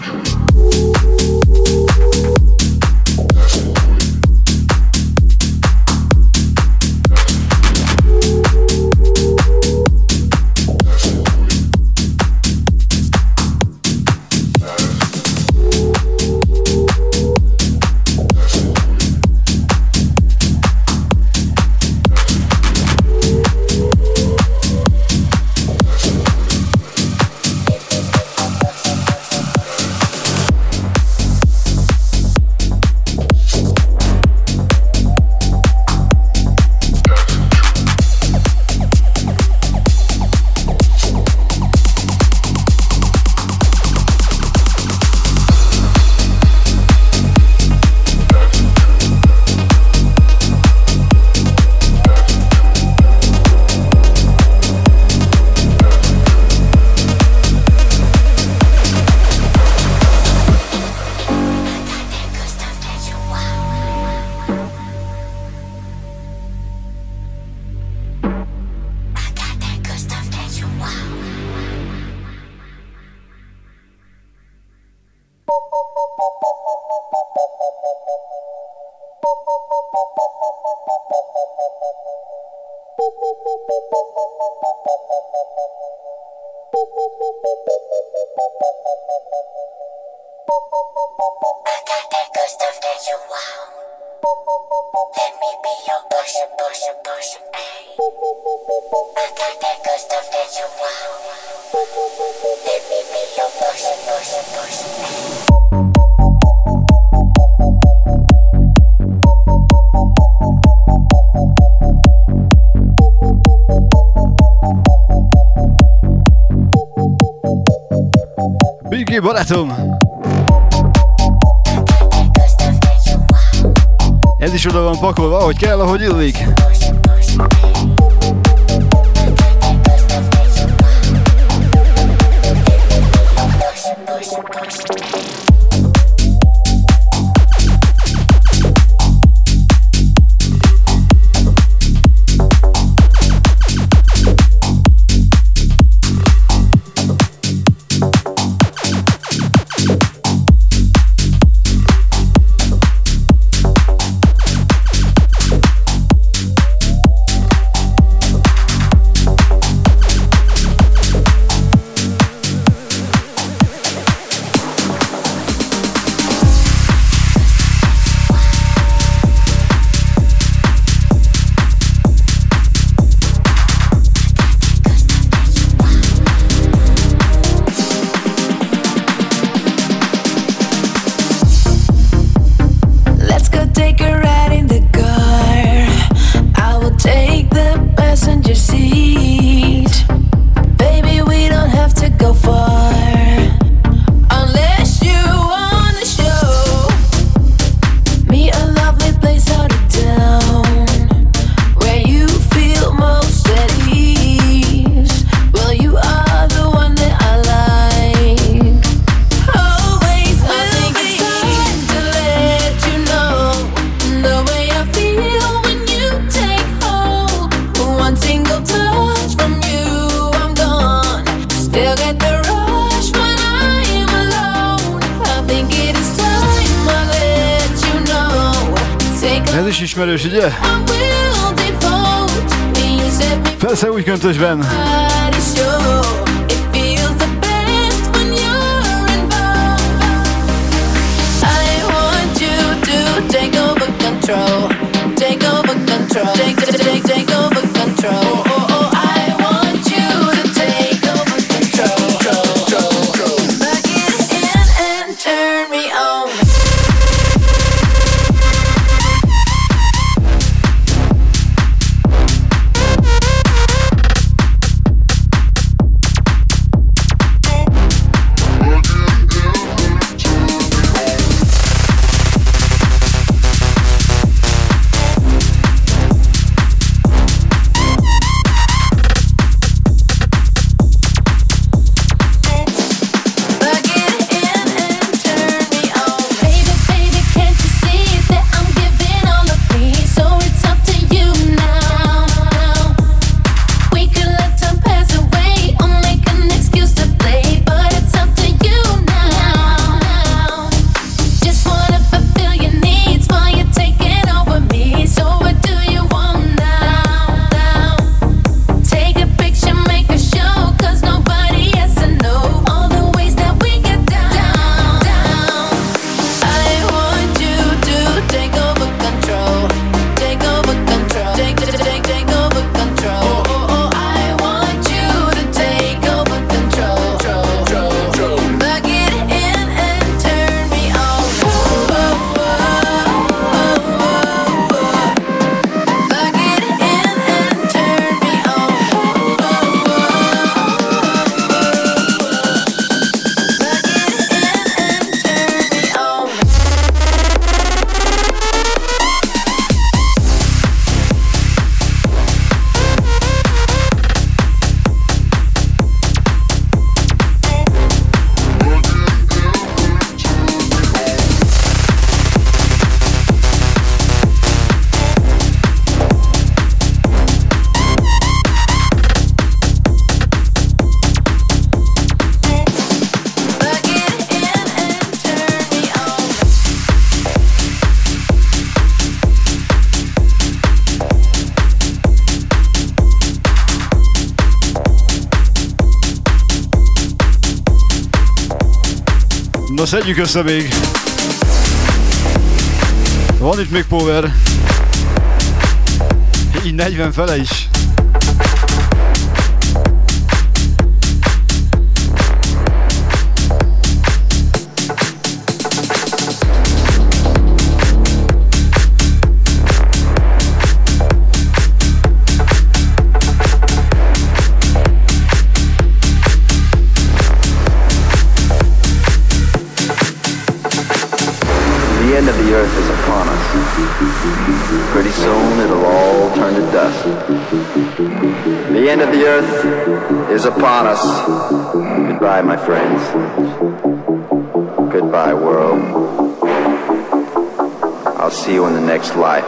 Biggie, barátom! Ez is oda van pakolva, ahogy kell, ahogy illik. get the rush when I am alone. I think it is time I let you know. Take a Ez is ismerős, ugye? I will devote. And you set me Persze úgy köntösben. body show. It feels the best when you're involved. I want you to take over control. Take over control. Take, take, take, take over control. Oh, oh, I want you to take over control. Plug it in and turn me on. Na szedjük össze még. Van itt még power. Így negyven fele is. The end of the earth is upon us. Pretty soon it'll all turn to dust. The end of the earth is upon us. Goodbye, my friends. Goodbye, world. I'll see you in the next life.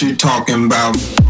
you talking about?